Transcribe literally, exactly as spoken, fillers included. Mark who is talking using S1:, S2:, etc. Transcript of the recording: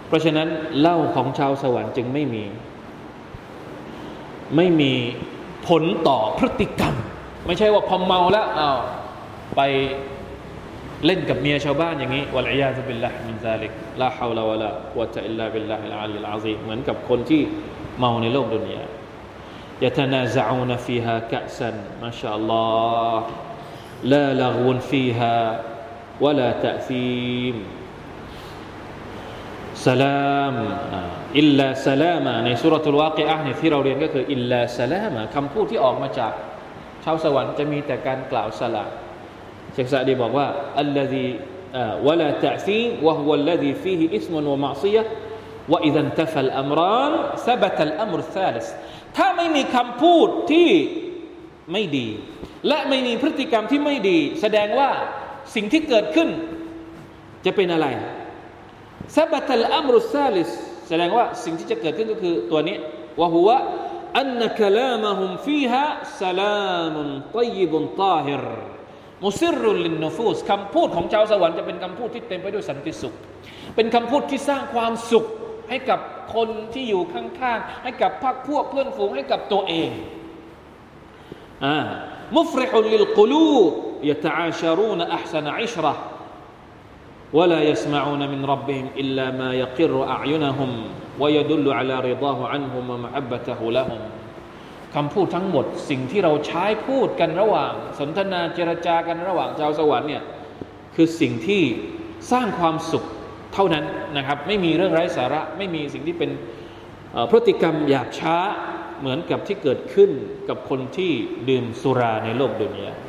S1: เพราะฉะนั้นเหล้าของชาวสวรรค์จึงไม่มีไม่มีผลต่อพฤติกรรมไม่ใช่ว่าพอเมาแล้วอ้าวไปเล่นกับเมียชาวบ้านอย่างนี้วัลอียาซุบิลลาฮิมินซาลิกลาฮาวลาวะลากุวะตะอิลลาบิลลาฮิลอาลีลอาซีมเหมือนกับคนที่เมาในโลกดุนยายะตะนาซะอูนฟีฮากะซันมาชาอัลลอฮ์ลาละฆวนฟีฮาวะลาตะซีมสลามอิลลาสลามาในซูเราะตุลวากิอะห์เนี่ยที่เราเรียนก็คืออิลลาสลามาคำพูดที่ออกมาจากชาวสวรรค์จะมีแต่การกล่าวสลามเชคซะดีบอกว่าอัลลซีวะลาตะซีมวะฮุวัลลซีฟีฮิอิสมุนวะมะอซิยะฮ์วะอิซันตะฟัลอัมรานซะบะตัลอัมรุซาลิสถ้าไม่มีคำพูดที่ไม่ดีและไม่มีพฤติกรรมที่ไม่ดีแสดงว่าสิ่งที่เกิดขึ้นจะเป็นอะไรซะบะตัลอัมรุซาลิสแสดงว่าสิ่งที่จะเกิดขึ้นก็คือตัวนี้วะฮุวะอันนะกะลามะฮุมฟีฮาสลามุนฏอยยิบุนฏอฮิรมุซิรรุนลินนุฟูสคำพูดของชาวสวรรค์จะเป็นคำพูดที่เต็มไปด้วยสันติสุขเป็นคำพูดที่สร้างความสุขให้กับคนที่อยู่ข้างๆให้กับพรรคพวกเพื่อนฝูงให้กับตัวเองอ่ามุฟริฮุนลิลกุลูบยะตะอาชะรูนอัห์ซะนะอิชเราะห์ولا يسمعون من ربهم إلا ما يقر أعينهم ويدل على رضاه عنهم ومحبته لهم คำพูดทั้งหมดสิ่งที่เราใช้พูดกันระหว่างสนทนาเจรจากันระหว่างชาวสวรรค์เนี่ยคือสิ่งที่สร้างความสุขเท่านั้นนะครับไม่มีเรื่องไร้สาระไม่มีสิ่งที่เป็นพฤติกรรมหยาบช้าเหมือนกับที่เกิดขึ้นกับคนที่ดื่มสุราในโลกดุนยา